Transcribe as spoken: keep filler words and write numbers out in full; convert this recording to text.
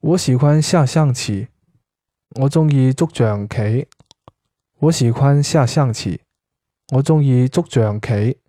我喜欢下象棋。我中意捉象棋。我喜欢下象棋。我中意捉象棋。